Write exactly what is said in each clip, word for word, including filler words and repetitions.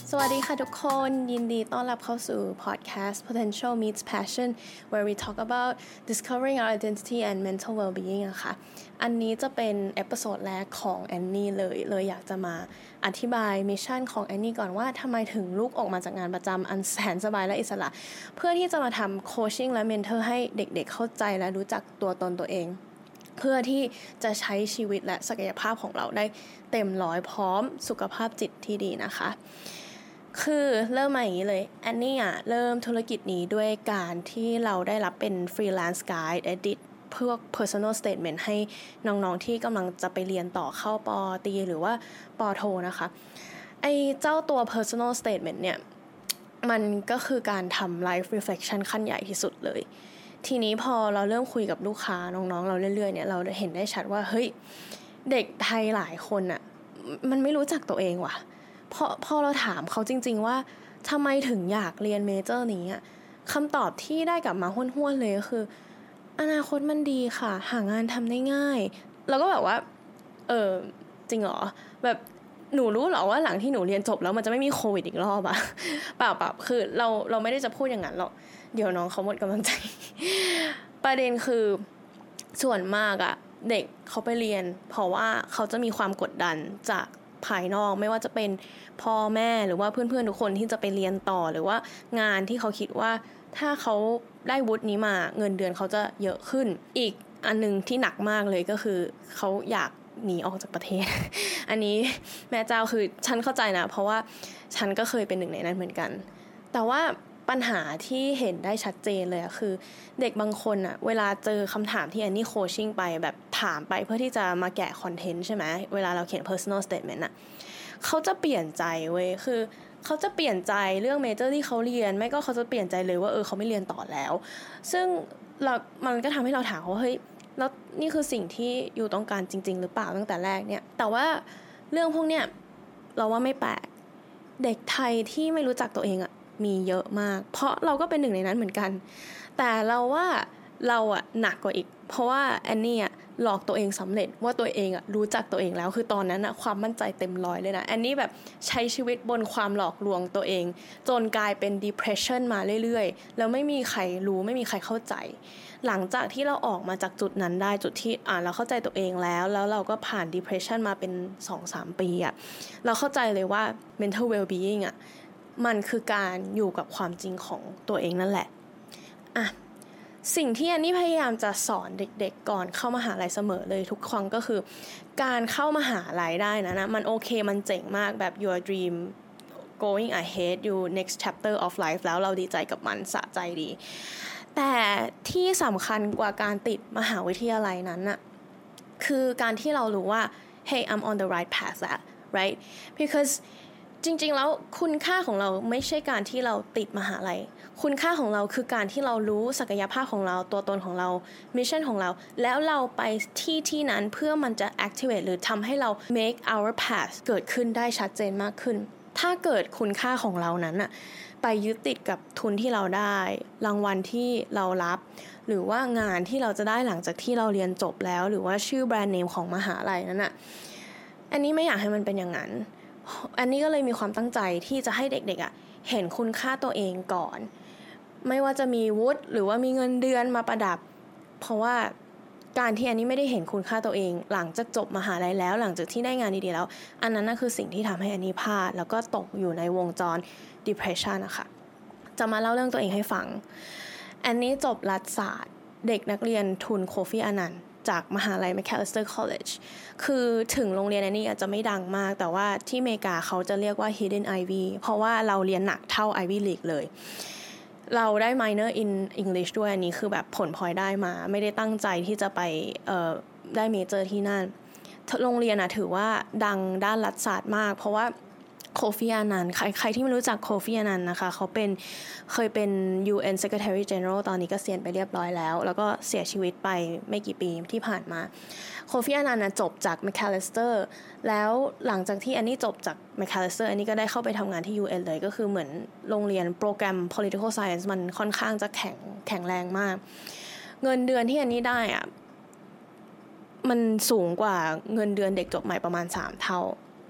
สวัสดีค่ะทุกคนยินดีต้อนรับเข้าสู่ podcast Potential Meets Passion where we talk about discovering our identity and mental well-being อะค่ะอันนี้จะเป็นเอพิโซดแรกของแอนนี่เลยเลยอยากจะมาอธิบายมิชชั่นของแอนนี่ก่อนว่าทำไมถึงลุกออกมาจากงานประจำอันแสนสบายและอิสระเพื่อที่จะมาทำโคชชิ่งและเมนเทอร์ให้เด็กๆเข้าใจและรู้จักตัวตนตัวเองเพื่อที่จะใช้ชีวิตและศักยภาพของเราได้เต็มร้อยพร้อมสุขภาพจิตที่ดีนะคะคือเริ่มมาอย่างนี้เลยแอนนี่อ่ะเริ่มธุรกิจนี้ด้วยการที่เราได้รับเป็น freelance guide edit พวก personal statement ให้น้องๆที่กำลังจะไปเรียนต่อเข้าปอตรีหรือว่าปอโทนะคะไอ้เจ้าตัว personal statement เนี่ยมันก็คือการทำ life reflection ขั้นใหญ่ที่สุดเลยทีนี้พอเราเริ่มคุยกับลูกค้าน้องๆเราเรื่อยๆเนี่ยเราเห็นได้ชัดว่าเฮ้ยเด็กไทยหลายคนอ่ะมันไม่รู้จักตัวเองว่ะพอพอเราถามเขาจริงๆว่าทำไมถึงอยากเรียนเมเจอร์นี้อ่ะคำตอบที่ได้กลับมาห้วนๆเลยก็คืออนาคตมันดีค่ะหางานทำได้ง่ายแล้วก็แบบว่าเออจริงเหรอแบบหนูรู้เหรอว่าหลังที่หนูเรียนจบแล้วมันจะไม่มีโควิดอีกรอบอะเปล่าเปล่าคือเราเราไม่ได้จะพูดอย่างนั้นหรอกเดี๋ยวน้องเขาหมดกำลังใจประเด็นคือส่วนมากอะเด็กเขาไปเรียนเพราะว่าเขาจะมีความกดดันจากภายนอกไม่ว่าจะเป็นพ่อแม่หรือว่าเพื่อนๆทุกคนที่จะไปเรียนต่อหรือว่างานที่เขาคิดว่าถ้าเขาได้วุฒินี้มาเงินเดือนเขาจะเยอะขึ้นอีกอันนึงที่หนักมากเลยก็คือเขาอยากหนีออกจากประเทศ อันนี้แม่เจ้าคือฉันเข้าใจนะเพราะว่าฉันก็เคยเป็นหนึ่งในนั้นเหมือนกันแต่ว่าปัญหาที่เห็นได้ชัดเจนเลยอะคือเด็กบางคนอะเวลาเจอคำถามที่แอนนี่โคชชิ่งไปแบบถามไปเพื่อที่จะมาแกะคอนเทนต์ใช่ไหมเวลาเราเขียน personal statement อะเขาจะเปลี่ยนใจเว้ยคือเขาจะเปลี่ยนใจเรื่องเมเจอร์ที่เขาเรียนไม่ก็เขาจะเปลี่ยนใจเลยว่าเออเขาไม่เรียนต่อแล้วซึ่งเรามันก็ทำให้เราถามว่าเฮ้ยแล้วนี่คือสิ่งที่อยู่ต้องการจริงๆหรือเปล่าตั้งแต่แรกเนี่ยแต่ว่าเรื่องพวกเนี้ยเราว่าไม่แปลกเด็กไทยที่ไม่รู้จักตัวเองอะมีเยอะมากเพราะเราก็เป็นหนึ่งในนั้นเหมือนกันแต่เราว่าเราอะหนักกว่าอีกเพราะว่าแอนนี่อะหลอกตัวเองสำเร็จว่าตัวเองอะรู้จักตัวเองแล้วคือตอนนั้นอะความมั่นใจเต็มร้อยเลยนะแอนนี่แบบใช้ชีวิตบนความหลอกลวงตัวเองจนกลายเป็น depression มาเรื่อยๆแล้วไม่มีใครรู้ไม่มีใครเข้าใจหลังจากที่เราออกมาจากจุดนั้นได้จุดที่อ่าเราเข้าใจตัวเองแล้วแล้วเราก็ผ่าน depression มาเป็น สองถึงสาม ปีอะเราเข้าใจเลยว่า mental well-being อะมันคือการอยู่กับความจริงของตัวเองนั่นแหละอ่ะสิ่งที่อันนี้พยายามจะสอนเด็กๆก่อนเข้ามหาลัยเสมอเลยทุกครั้งก็คือการเข้ามหาลัยได้นะนะมันโอเคมันเจ๋งมากแบบ your dream going ahead you next chapter of life แล้วเราดีใจกับมันสะใจดีแต่ที่สำคัญกว่าการติดมหาวิทยาลัยนั้นน่ะคือการที่เรารู้ว่า hey I'm on the right path แล้ว right becauseจริงๆแล้วคุณค่าของเราไม่ใช่การที่เราติดมหาลัยคุณค่าของเราคือการที่เรารู้ศักยภาพของเราตัวตนของเรามิชชั่นของเราแล้วเราไปที่ที่นั้นเพื่อมันจะ activate หรือทำให้เรา make our path เกิดขึ้นได้ชัดเจนมากขึ้นถ้าเกิดคุณค่าของเรานั้นอะไปยึดติดกับทุนที่เราได้รางวัลที่เรารับหรือว่างานที่เราจะได้หลังจากที่เราเรียนจบแล้วหรือว่าชื่อแบรนด์เนมของมหาลัยนั้นอะอันนี้ไม่อยากให้มันเป็นอย่างนั้นอันนี้ก็เลยมีความตั้งใจที่จะให้เด็กๆอ่ะเห็นคุณค่าตัวเองก่อนไม่ว่าจะมีวุฒิหรือว่ามีเงินเดือนมาประดับเพราะว่าการที่อันนี้ไม่ได้เห็นคุณค่าตัวเองหลังจากจบมหาลัยแล้วหลังจากที่ได้งานดีๆแล้วอันนั้นน่ะคือสิ่งที่ทำให้อันนี้พลาดแล้วก็ตกอยู่ในวงจร depression นะคะจะมาเล่าเรื่องตัวเองให้ฟังอันนี้จบรัฐศาสตร์เด็กนักเรียนทุนโคฟี่อนันต์จากมหาลัย Macalester College คือถึงโรงเรียนอันนี้อาจจะไม่ดังมากแต่ว่าที่อเมริกาเขาจะเรียกว่า Hidden Ivy เพราะว่าเราเรียนหนักเท่า Ivy League เลยเราได้ minor in English ด้วยอันนี้คือแบบผลพลอยได้มาไม่ได้ตั้งใจที่จะไปเอ่อได้เมเจอร์ที่นั่นโรงเรียนนะถือว่าดังด้านรัฐศาสตร์มากเพราะว่าโคฟีอานันต์ใครใครที่ไม่รู้จักโคฟีอานันต์นะคะเขาเป็นเคยเป็น ยู เอ็น Secretary General ตอนนี้ก็เกษียณไปเรียบร้อยแล้วแล้วก็เสียชีวิตไปไม่กี่ปีที่ผ่านมาโคฟีอานันต์จบจาก Macalester แล้วหลังจากที่อันนี้จบจาก Macalester อันนี้ก็ได้เข้าไปทำงานที่ ยู เอ็น เลยก็คือเหมือนโรงเรียนโปรแกรม Political Science มันค่อนข้างจะแข็งแข็งแรงมากเงินเดือนที่อันนี้ได้อะมันสูงกว่าเงินเดือนเด็กจบใหม่ประมาณสามเท่า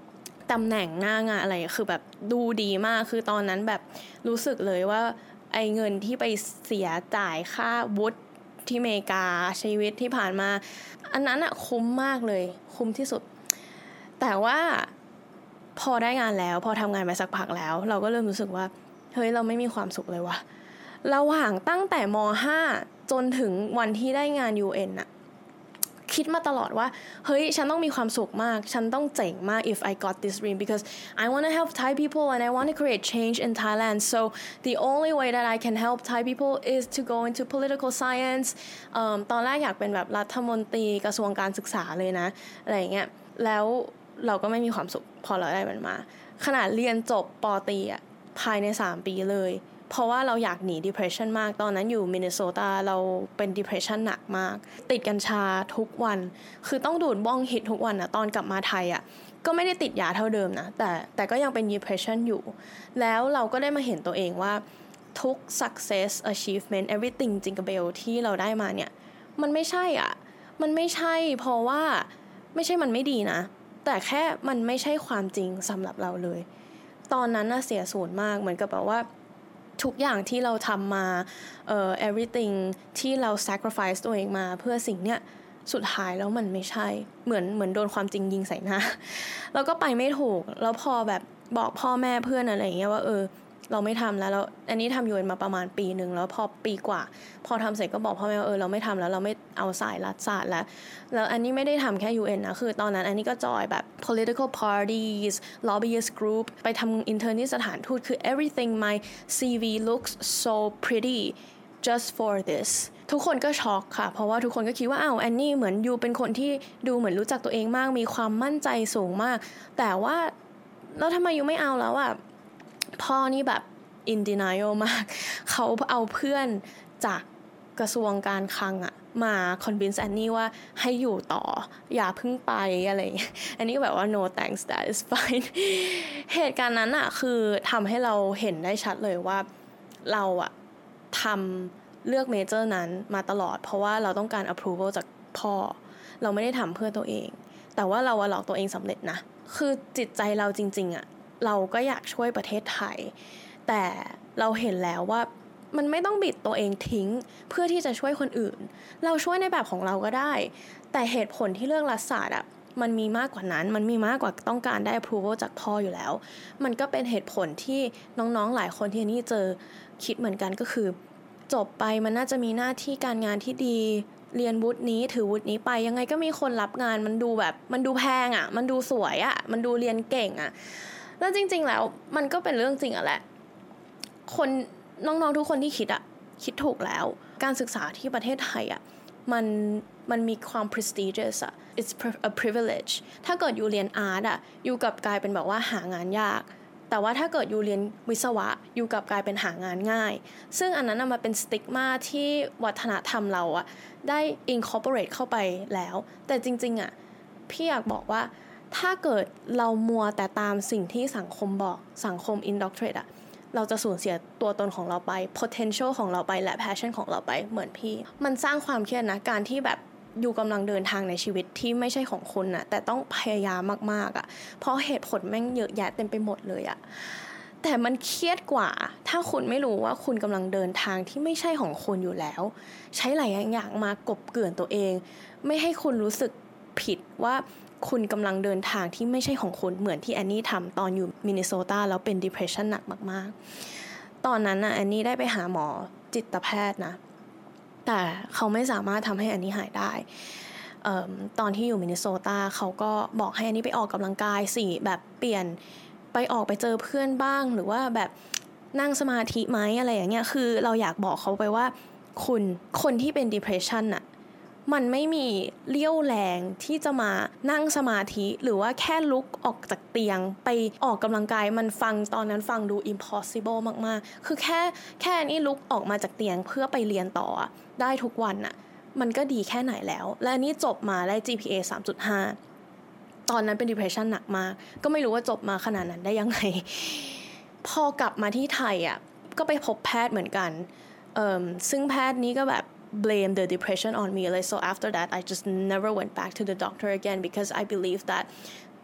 ตำแหน่งหน้างานอะไรคือแบบดูดีมากคือตอนนั้นแบบรู้สึกเลยว่าไอ้เงินที่ไปเสียจ่ายค่าวุฒิที่อเมริกาชีวิตที่ผ่านมาอันนั้นอะคุ้มมากเลยคุ้มที่สุดแต่ว่าพอได้งานแล้วพอทำงานไปสักพักแล้วเราก็เริ่มรู้สึกว่าเฮ้ยเราไม่มีความสุขเลยว่ะระหว่างตั้งแต่ม.ห้า จนถึงวันที่ได้งาน ยู เอ็น อะคิดมาตลอดว่าเฮ้ยฉันต้องมีความสุขมากฉันต้องเจ๋งมาก if I got this dream because I want to help Thai people and I want to create change in Thailand so the only way that I can help Thai people is to go into political science เอ่อตอนแรกอยากเป็นแบบรัฐมนตรีกระทรวงการศึกษาเลยนะอะไรอย่างเงี้ยแล้วเราก็ไม่มีความสุขพอเราได้มันมาขนาดเรียนจบป.ตรีอ่ะภายในสามปีเลยเพราะว่าเราอยากหนี depression มากตอนนั้นอยู่มินนิโซตาเราเป็น depression หนักมากติดกัญชาทุกวันคือต้องดูดบ้องฮิตทุกวันนะตอนกลับมาไทยอ่ะก็ไม่ได้ติดยาเท่าเดิมนะแต่แต่ก็ยังเป็น depression อยู่แล้วเราก็ได้มาเห็นตัวเองว่าทุก success achievement everything jingle bell ที่เราได้มาเนี่ยมันไม่ใช่อ่ะมันไม่ใช่เพราะว่าไม่ใช่มันไม่ดีนะแต่แค่มันไม่ใช่ความจริงสำหรับเราเลยตอนนั้นน่ะเสียศูนย์มากเหมือนกับแบบว่าทุกอย่างที่เราทำมาเอ่อ everything ที่เรา sacrifice ตัวเองมาเพื่อสิ่งเนี้ยสุดท้ายแล้วมันไม่ใช่เหมือนเหมือนโดนความจริงยิงใส่หน้าแล้วก็ไปไม่ถูกแล้วพอแบบบอกพ่อแม่เพื่อนอะไรอย่างเงี้ยว่าเออเราไม่ทำแล้วแล้วอันนี้ทำยูเอ็นมาประมาณปีนึงแล้วพอปีกว่าพอทำเสร็จก็บอกพ่อแม่ว่าเออเราไม่ทำแล้วเราไม่เอาสายรัฐศาสตร์แล้วแล้วอันนี้ไม่ได้ทำแค่ ยู เอ็น นะคือตอนนั้นอันนี้ก็จอยแบบ political parties lobbyist group ไปทำ intern ที่สถานทูตคือ everything my ซี วี looks so pretty just for this ทุกคนก็ช็อกค่ะเพราะว่าทุกคนก็คิดว่าอ้าวแอนนี่เหมือนยูเป็นคนที่ดูเหมือนรู้จักตัวเองมากมีความมั่นใจสูงมากแต่ว่าแล้วทำไมยูไม่เอาแล้วอ่ะพ่อนี่แบบ in denial มากเขาเอาเพื่อนจากกระทรวงการคลังอะมา convince แอนนี่ว่าให้อยู่ต่ออย่าเพิ่งไปอะไรอันนี้แบบว่า no thanks that is fine เหตุการณ์นั้นอะคือทำให้เราเห็นได้ชัดเลยว่าเราอะทำเลือกเมเจอร์นั้นมาตลอดเพราะว่าเราต้องการ approval จากพ่อเราไม่ได้ทำเพื่อตัวเองแต่ว่าเราหลอกตัวเองสำเร็จนะคือจิตใจเราจริงๆอะเราก็อยากช่วยประเทศไทยแต่เราเห็นแล้วว่ามันไม่ต้องบิดตัวเองทิ้งเพื่อที่จะช่วยคนอื่นเราช่วยในแบบของเราก็ได้แต่เหตุผลที่เลือกรัฐศาสตร์อ่ะมันมีมากกว่านั้นมันมีมากกว่าต้องการได้ approval จากพ่ออยู่แล้วมันก็เป็นเหตุผลที่น้องๆหลายคนที่นี่เจอคิดเหมือนกันก็คือจบไปมันน่าจะมีหน้าที่การงานที่ดีเรียนวุฒินี้ถือวุฒินี้ไปยังไงก็มีคนรับงานมันดูแบบมันดูแพงอ่ะมันดูสวยอ่ะมันดูเรียนเก่งอ่ะแล้วจริงๆแล้วมันก็เป็นเรื่องจริงอ่ะแหละคนน้องๆทุกคนที่คิดอะคิดถูกแล้วการศึกษาที่ประเทศไทยอะมันมันมีความ prestigious อะ it's a privilege ถ้าเกิดอยู่เรียนอาร์ตอะอยู่กับกลายเป็นแบบว่าหางานยากแต่ว่าถ้าเกิดอยู่เรียนวิศวะอยู่กับกลายเป็นหางานง่ายซึ่งอันนั้นมันเป็นสติ๊กมาที่วัฒนธรรมเราอะได้ incorporate เข้าไปแล้วแต่จริงๆอะพี่อยากบอกว่าถ้าเกิดเรามัวแต่ตามสิ่งที่สังคมบอกสังคม indoctrinate อะเราจะสูญเสียตัวตนของเราไป potential ของเราไปและ passion ของเราไปเหมือนพี่มันสร้างความเครียดนะการที่แบบอยู่กำลังเดินทางในชีวิตที่ไม่ใช่ของคุณนะแต่ต้องพยายามมากๆอ่ะเพราะเหตุผลแม่งเยอะแยะเต็มไปหมดเลยอ่ะแต่มันเครียดกว่าถ้าคุณไม่รู้ว่าคุณกำลังเดินทางที่ไม่ใช่ของคุณอยู่แล้วใช้หลายอย่างมากบเกลื่อนตัวเองไม่ให้คุณรู้สึกผิดว่าคุณกำลังเดินทางที่ไม่ใช่ของคุณเหมือนที่แอนนี่ทำตอนอยู่มินนิโซตาแล้วเป็น depression หนักมากๆตอนนั้นน่ะแอนนี่ได้ไปหาหมอจิตแพทย์นะแต่เขาไม่สามารถทำให้แอนนี่หายได้เอ่อตอนที่อยู่มินนิโซตาเขาก็บอกให้แอนนี่ไปออกกำลังกายสิแบบเปลี่ยนไปออกไปเจอเพื่อนบ้างหรือว่าแบบนั่งสมาธิไหมอะไรอย่างเงี้ยคือเราอยากบอกเขาไปว่าคุณคนที่เป็น depression น่ะมันไม่มีเรี่ยวแรงที่จะมานั่งสมาธิหรือว่าแค่ลุกออกจากเตียงไปออกกำลังกายมันฟังตอนนั้นฟังดู impossible มากๆคือแค่แค่นี้ลุกออกมาจากเตียงเพื่อไปเรียนต่อได้ทุกวันน่ะมันก็ดีแค่ไหนแล้วและนี่จบมาได้ จี พี เอ สามจุดห้า ตอนนั้นเป็น depression หนักมากก็ไม่รู้ว่าจบมาขนาดนั้นได้ยังไงพอกลับมาที่ไทยอ่ะก็ไปพบแพทย์เหมือนกันเอ่อซึ่งแพทย์นี้ก็แบบblame the depression on me like so after that I just never went back to the doctor again because I believe that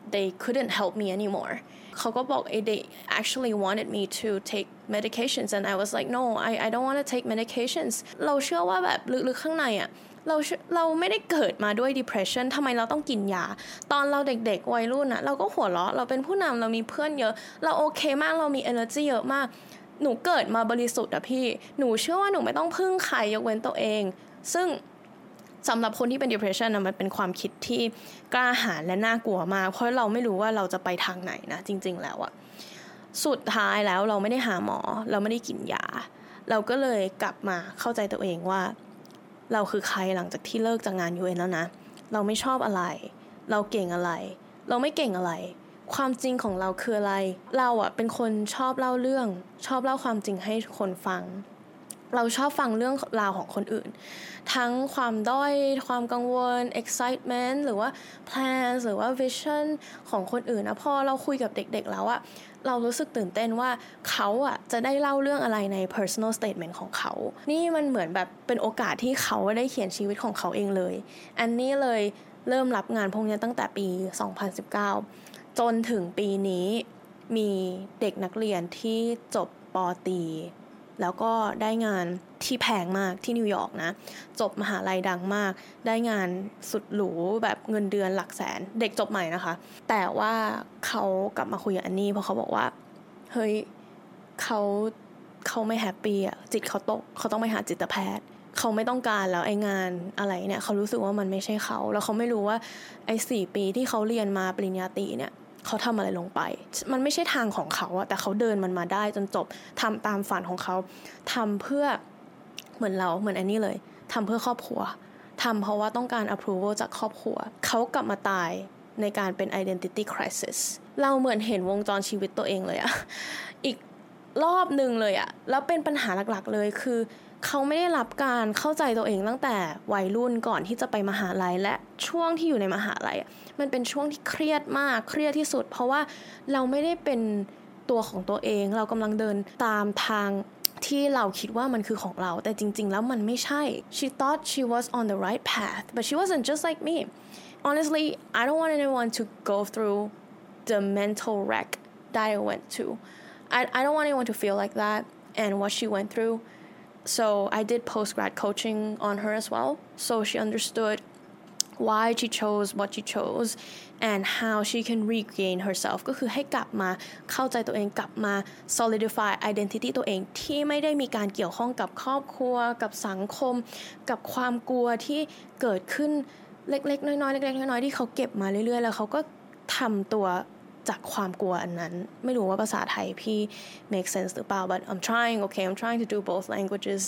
they couldn't help me anymore เขาก็บอก they actually wanted me to take medications and I was like no I I don't want to take medications เราเชื่อว่าแบบลึกๆข้างในอ่ะเราเราไม่ได้เกิดมาด้วย depression ทำไมเราต้องกินยาตอนเราเด็กๆวัยรุ่นน่ะเราก็หัวเราะเราเป็นผู้นำเรามีเพื่อนเยอะเราโอเคมากเรามี energy เยอะมากหนูเกิดมาบริสุทธิ์อะพี่หนูเชื่อว่าหนูไม่ต้องพึ่งใครยกเว้นตัวเองซึ่งสำหรับคนที่เป็น depression นะมันเป็นความคิดที่กล้าหาญและน่ากลัวมากเพราะเราไม่รู้ว่าเราจะไปทางไหนนะจริงๆแล้วอะสุดท้ายแล้วเราไม่ได้หาหมอเราไม่ได้กินยาเราก็เลยกลับมาเข้าใจตัวเองว่าเราคือใครหลังจากที่เลิกจากงาน ยู เอ็น แล้วนะเราไม่ชอบอะไรเราเก่งอะไรเราไม่เก่งอะไรความจริงของเราคืออะไรเราอะเป็นคนชอบเล่าเรื่องชอบเล่าความจริงให้คนฟังเราชอบฟังเรื่องราวของคนอื่นทั้งความด้อยความกังวล excitement หรือว่า plans หรือว่า vision ของคนอื่นนะพอเราคุยกับเด็กๆแล้วอะเรารู้สึกตื่นเต้นว่าเขาอะจะได้เล่าเรื่องอะไรใน personal statement ของเขานี่มันเหมือนแบบเป็นโอกาสที่เขาได้เขียนชีวิตของเขาเองเลยอันนี้เลยเริ่มรับงานพวกนี้ตั้งแต่ปีสองพันสิบเก้าจนถึงปีนี้มีเด็กนักเรียนที่จบป.ตรีแล้วก็ได้งานที่แพงมากที่นิวยอร์กนะจบมหาลัยดังมากได้งานสุดหรูแบบเงินเดือนหลักแสนเด็กจบใหม่นะคะแต่ว่าเขากลับมาคุยกับอันนี้เพราะเขาบอกว่าเฮ้ยเขาเขาไม่แฮปปี้อ่ะจิตเขาตกเขาต้องไปหาจิตแพทย์เขาไม่ต้องการแล้วไอ้งานอะไรเนี่ยเขารู้สึกว่ามันไม่ใช่เขาแล้วเขาไม่รู้ว่าไอ้สี่ปีที่เขาเรียนมาปริญญาตรีเนี่ยเขาทำอะไรลงไปมันไม่ใช่ทางของเขาอะแต่เขาเดินมันมาได้จนจบทำตามฝันของเขาทำเพื่อเหมือนเราเหมือนอันนี้เลยทำเพื่อครอบครัวทำเพราะว่าต้องการ approval จากครอบครัวเขากลับมาตายในการเป็น identity crisis เราเหมือนเห็นวงจรชีวิตตัวเองเลยอะอีกรอบนึงเลยอะแล้วเป็นปัญหาหลักๆเลยคือเขาไม่ได้รับการเข้าใจตัวเองตั้งแต่วัยรุ่นก่อนที่จะไปมหาลัยและช่วงที่อยู่ในมหาลัยมันเป็นช่วงที่เครียดมากเครียดที่สุดเพราะว่าเราไม่ได้เป็นตัวของตัวเองเรากำลังเดินตามทางที่เราคิดว่ามันคือของเราแต่จริงๆแล้วมันไม่ใช่ she thought she was on the right path but she wasn't just like me honestly I don't want anyone to go through the mental wreck that I went to I, I don't want anyone to feel like that and what she went through so I did post-grad coaching on her as well so she understood why she chose what she chose and how she can regain herself ก็คือให้กลับมาเข้าใจตัวเองกลับมา solidify identity ตัวเองที่ไม่ได้มีการเกี่ยวข้องกับครอบครัวกับสังคมกับความกลัวที่เกิดขึ้นเล็กๆน้อยๆเล็กๆน้อยๆที่เขาเก็บมาเรื่อยๆแล้วเขาก็ทำตัวจากความกลัวอันนั้นไม่รู้ว่าภาษาไทยพี่ make sense หรือเปล่า but I'm trying okay I'm trying to do both languages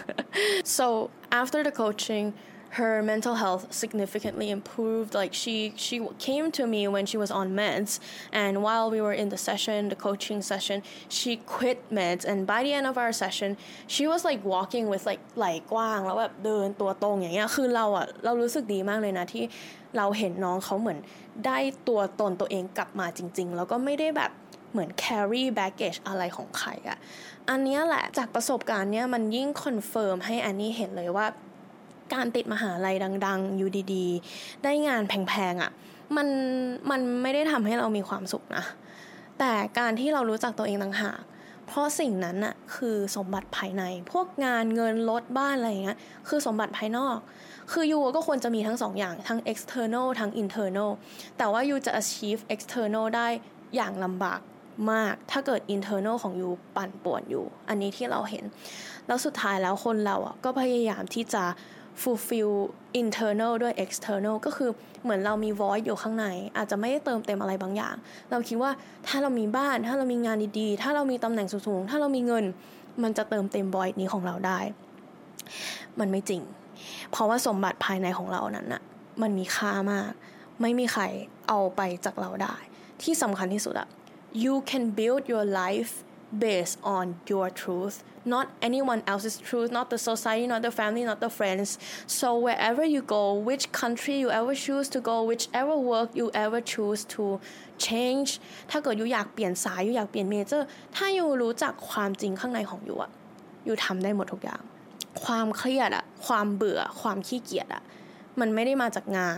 so after the coaching her mental health significantly improved like she she came to me when she was on meds and while we were in the session the coaching session she quit meds and by the end of our session she was like walking with like ไหล่กว้างแล้วแบบเดินตัวตรงอย่างเงี้ยคือเราอะเรารู้สึกดีมากเลยนะที่เราเห็นน้องเขาเหมือนได้ตัวตนตัวเองกลับมาจริงๆแล้วก็ไม่ได้แบบเหมือน carry baggage อะไรของใครอะอันนี้แหละจากประสบการณ์เนี้ยมันยิ่งคอนเฟิร์มให้อันนี้เห็นเลยว่าการติดมหาลัยดังๆอยู่ดีๆได้งานแพงๆอ่ะมันมันไม่ได้ทำให้เรามีความสุขนะแต่การที่เรารู้จักตัวเองต่างหากเพราะสิ่งนั้นน่ะคือสมบัติภายในพวกงานเงินรถบ้านอะไรอย่างเงี้ยคือสมบัติภายนอกคือยูก็ควรจะมีทั้งสองอย่างทั้ง external ทั้ง internal แต่ว่ายูจะ achieve external ได้อย่างลำบากมากถ้าเกิด internal ของยูปั่นป่วนอยู่อันนี้ที่เราเห็นแล้วสุดท้ายแล้วคนเราอ่ะก็พยายามที่จะfulfill internal ด้วย external ก็คือเหมือนเรามี void อยู่ข้างในอาจจะไม่ได้เติมเต็มอะไรบางอย่างเราคิดว่าถ้าเรามีบ้านถ้าเรามีงานดีๆถ้าเรามีตำแหน่งสูงๆถ้าเรามีเงินมันจะเติมเต็ม void นี้ของเราได้มันไม่จริงเพราะว่าสมบัติภายในของเรานั้นน่ะมันมีค่ามากไม่มีใครเอาไปจากเราได้ที่สำคัญที่สุดอะ you can build your life based on your truth not anyone else's truth not the society not the family not the friends so wherever you go which country you ever choose to go whichever work you ever choose to change ถ้าเกิดอยู่อยากเปลี่ยนสายอยู่อยากเปลี่ยนเมเจอร์ถ้าอยู่รู้จักความจริงข้างในของอยู่อะอยู่ทำได้หมดทุกอย่างความเครียดอะความเบื่อความขี้เกียจอะมันไม่ได้มาจากงาน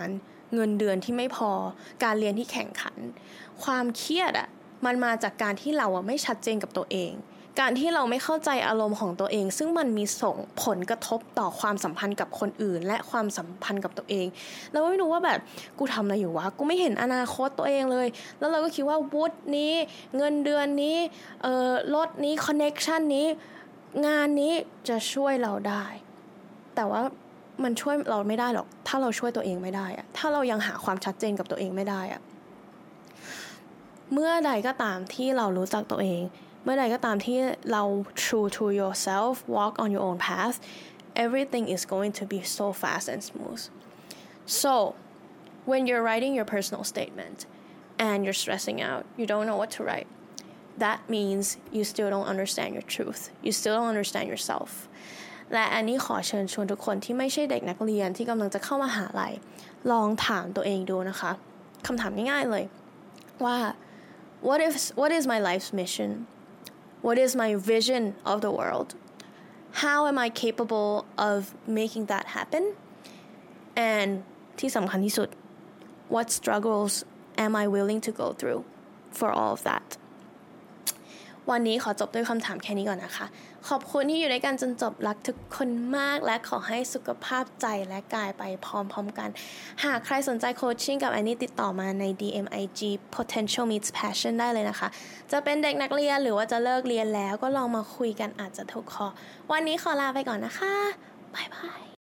เงินเดือนที่ไม่พอการเรียนที่แข่งขันความเครียดอ่ะมันมาจากการที่เราอ่ะไม่ชัดเจนกับตัวเองการที่เราไม่เข้าใจอารมณ์ของตัวเองซึ่งมันมีส่งผลกระทบต่อความสัมพันธ์กับคนอื่นและความสัมพันธ์กับตัวเองเราไม่รู้ว่าแบบกูทำอะไรอยู่วะกูไม่เห็นอนาคตตัวเองเลยแล้วเราก็คิดว่าวุฒินี้เงินเดือนนี้เอ่อรถนี้คอนเนคชั่นนี้งานนี้จะช่วยเราได้แต่ว่ามันช่วยเราไม่ได้หรอกถ้าเราช่วยตัวเองไม่ได้อะถ้าเรายังหาความชัดเจนกับตัวเองไม่ได้อะเมื่อใดก็ตามที่เรารู้จักตัวเองเมื่อใดก็ตามที่เรา true to yourself walk on your own path everything is going to be so fast and smooth so when you're writing your personal statement and you're stressing out you don't know what to write that means you still don't understand your truth you still don't understand yourself และอันนี้ขอเชิญชวนทุกคนที่ไม่ใช่เด็กนักเรียนที่กำลังจะเข้ามหาลัยลองถามตัวเองดูนะคะคำถามง่ายๆเลยว่า what if what is my life's mission what is my vision of the world how am I capable of making that happen and ที่สำคัญที่สุด what struggles am I willing to go through for all of that วันนี้ขอจบด้วยคำถามแค่นี้ก่อนนะคะขอบคุณที่อยู่ด้วยกันจนจบรักทุกคนมากและขอให้สุขภาพใจและกายไปพร้อมๆกันหากใครสนใจโคชชิ่งกับแอนนี่ติดต่อมาใน ดี เอ็ม ไอ จี potential meets passion ได้เลยนะคะจะเป็นเด็กนักเรียนหรือว่าจะเลิกเรียนแล้วก็ลองมาคุยกันอาจจะถูกคอวันนี้ขอลาไปก่อนนะคะบ๊ายบาย